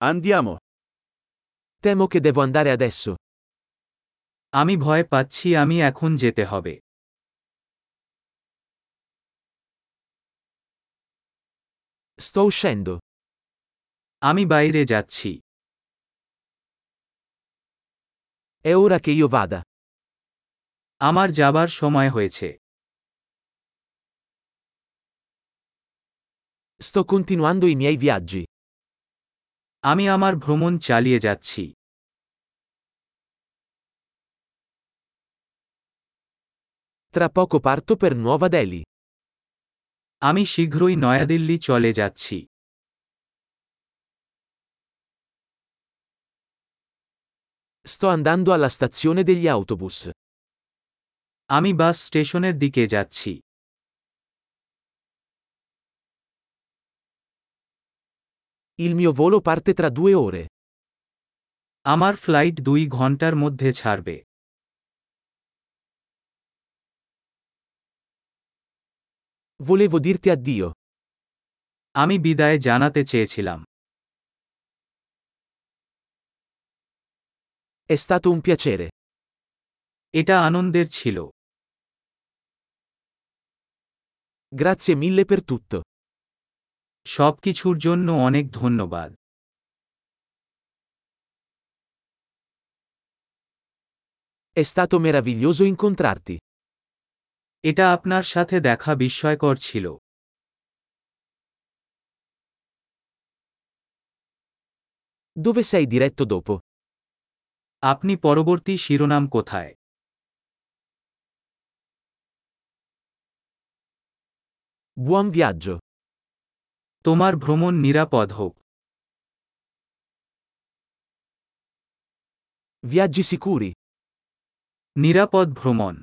Andiamo. Temo che devo andare adesso. আমি ভয় পাচ্ছি আমি এখন যেতে হবে। Sto uscendo. আমি বাইরে যাচ্ছি। È ora che io vada. আমার যাবার সময় হয়েছে। Sto continuando i miei viaggi. আমি আমার ভ্রমণ চালিয়ে যাচ্ছি। Tra poco parto per Nuova Delhi. আমি শীঘ্রই নয়াদিল্লি চলে যাচ্ছি। Sto andando alla stazione degli autobus. আমি বাস স্টেশনের দিকে যাচ্ছি। Il mio volo parte tra 2 ore. আমার ফ্লাইট 2 ঘন্টার মধ্যে ছাড়বে। Volevo dirti addio. আমি বিদায় জানাতে চেয়েছিলাম। È stato un piacere. এটা আনন্দের ছিল। Grazie mille per tutto. সবকিছুর জন্য অনেক ধন্যবাদ। È stato meraviglioso incontrarti. এটা আপনার সাথে দেখা বিস্ময়কর ছিল। Dove sei diretto dopo? আপনি পরবর্তী শিরোনাম কোথায়? Buon viaggio. তোমার ভ্রমণ নিরাপদ হোক। Viaggi sicuri. নিরাপদ ভ্রমণ।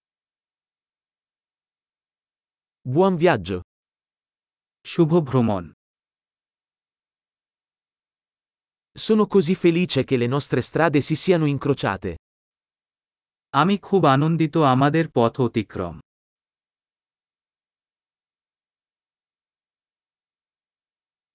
Buon viaggio. শুভ ভ্রমণ। Sono così felice che le nostre strade si siano incrociate. আমি খুব আনন্দিত আমাদের পথ অতিক্রম।